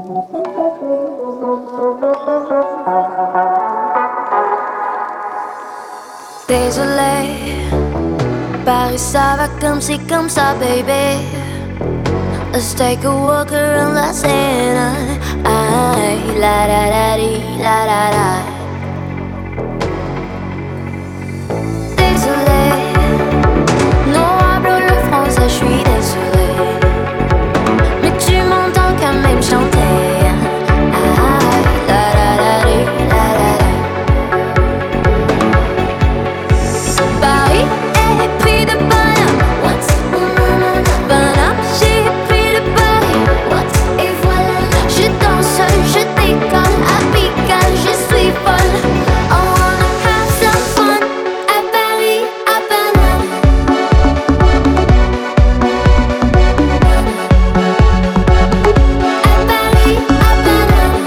Désolé, Paris ça va comme ci comme ça, baby. Let's take a walk around la Seine. Ay, la da da di, la da da. Désolé, no hablo le français, je suis désolé. Mais tu m'entends quand même chanter. Ay, la da da di, la da da. Paris est pris de bonheur. What? Bonheur, j'ai pris de Paris. What? Et voilà, je danse, je déconne, à Pigalle, je suis folle. I wanna have some fun à Paris, à Paname. À Paris, à Paname.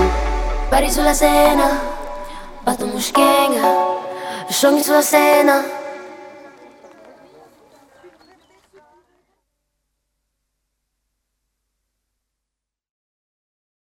Sulla Sena, batto Muschenga, sciogli sulla Sena.